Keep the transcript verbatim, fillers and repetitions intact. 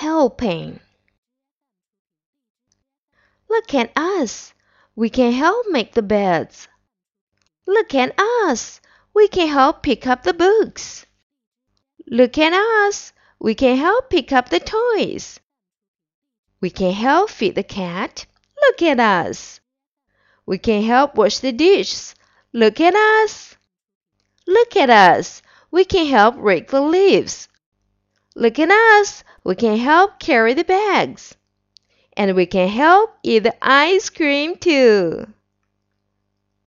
helping. Look at us. We can help make the beds. Look at us. We can help pick up the books. Look at us. We can help pick up the toys. We can help feed the cat. Look at us. We can help wash the dishes. Look at us. Look at us. We can help rake the leaves. Look at us. We can help carry the bags. And we can help eat the ice cream too.